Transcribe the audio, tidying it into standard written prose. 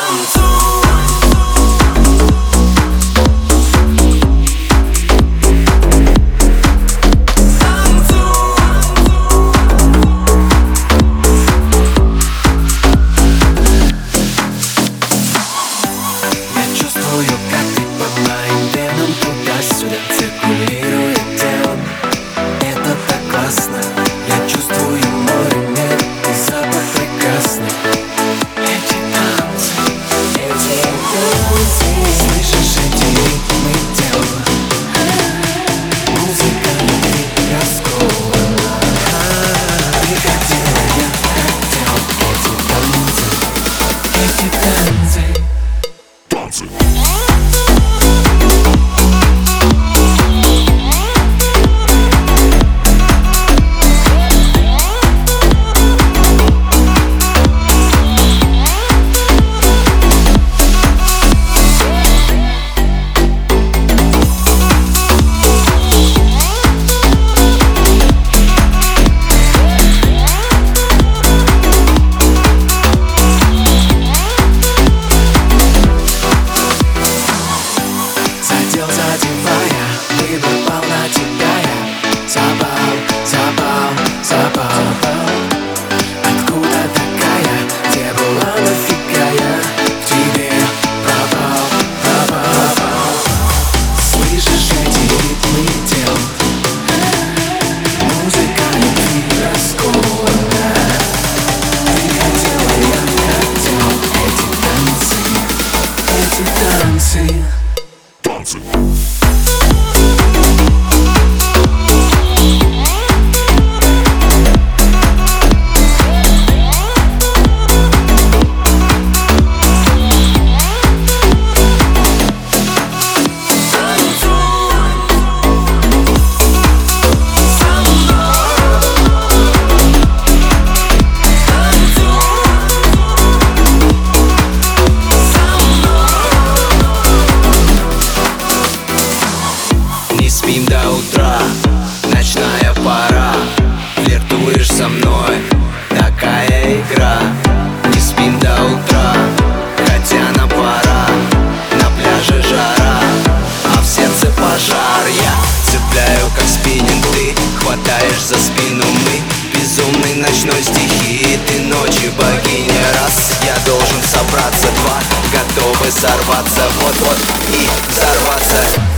Спим до утра, ночная пора. Флиртуешь со мной, такая игра. Не спим до утра, хотя на пора. На пляже жара, а в сердце пожар. Я цепляю как спиннинг, ты хватаешь за спину. Мы безумный ночной стихии, ты ночью богиня. Раз, я должен собраться. Два, готовы сорваться вот-вот и взорваться.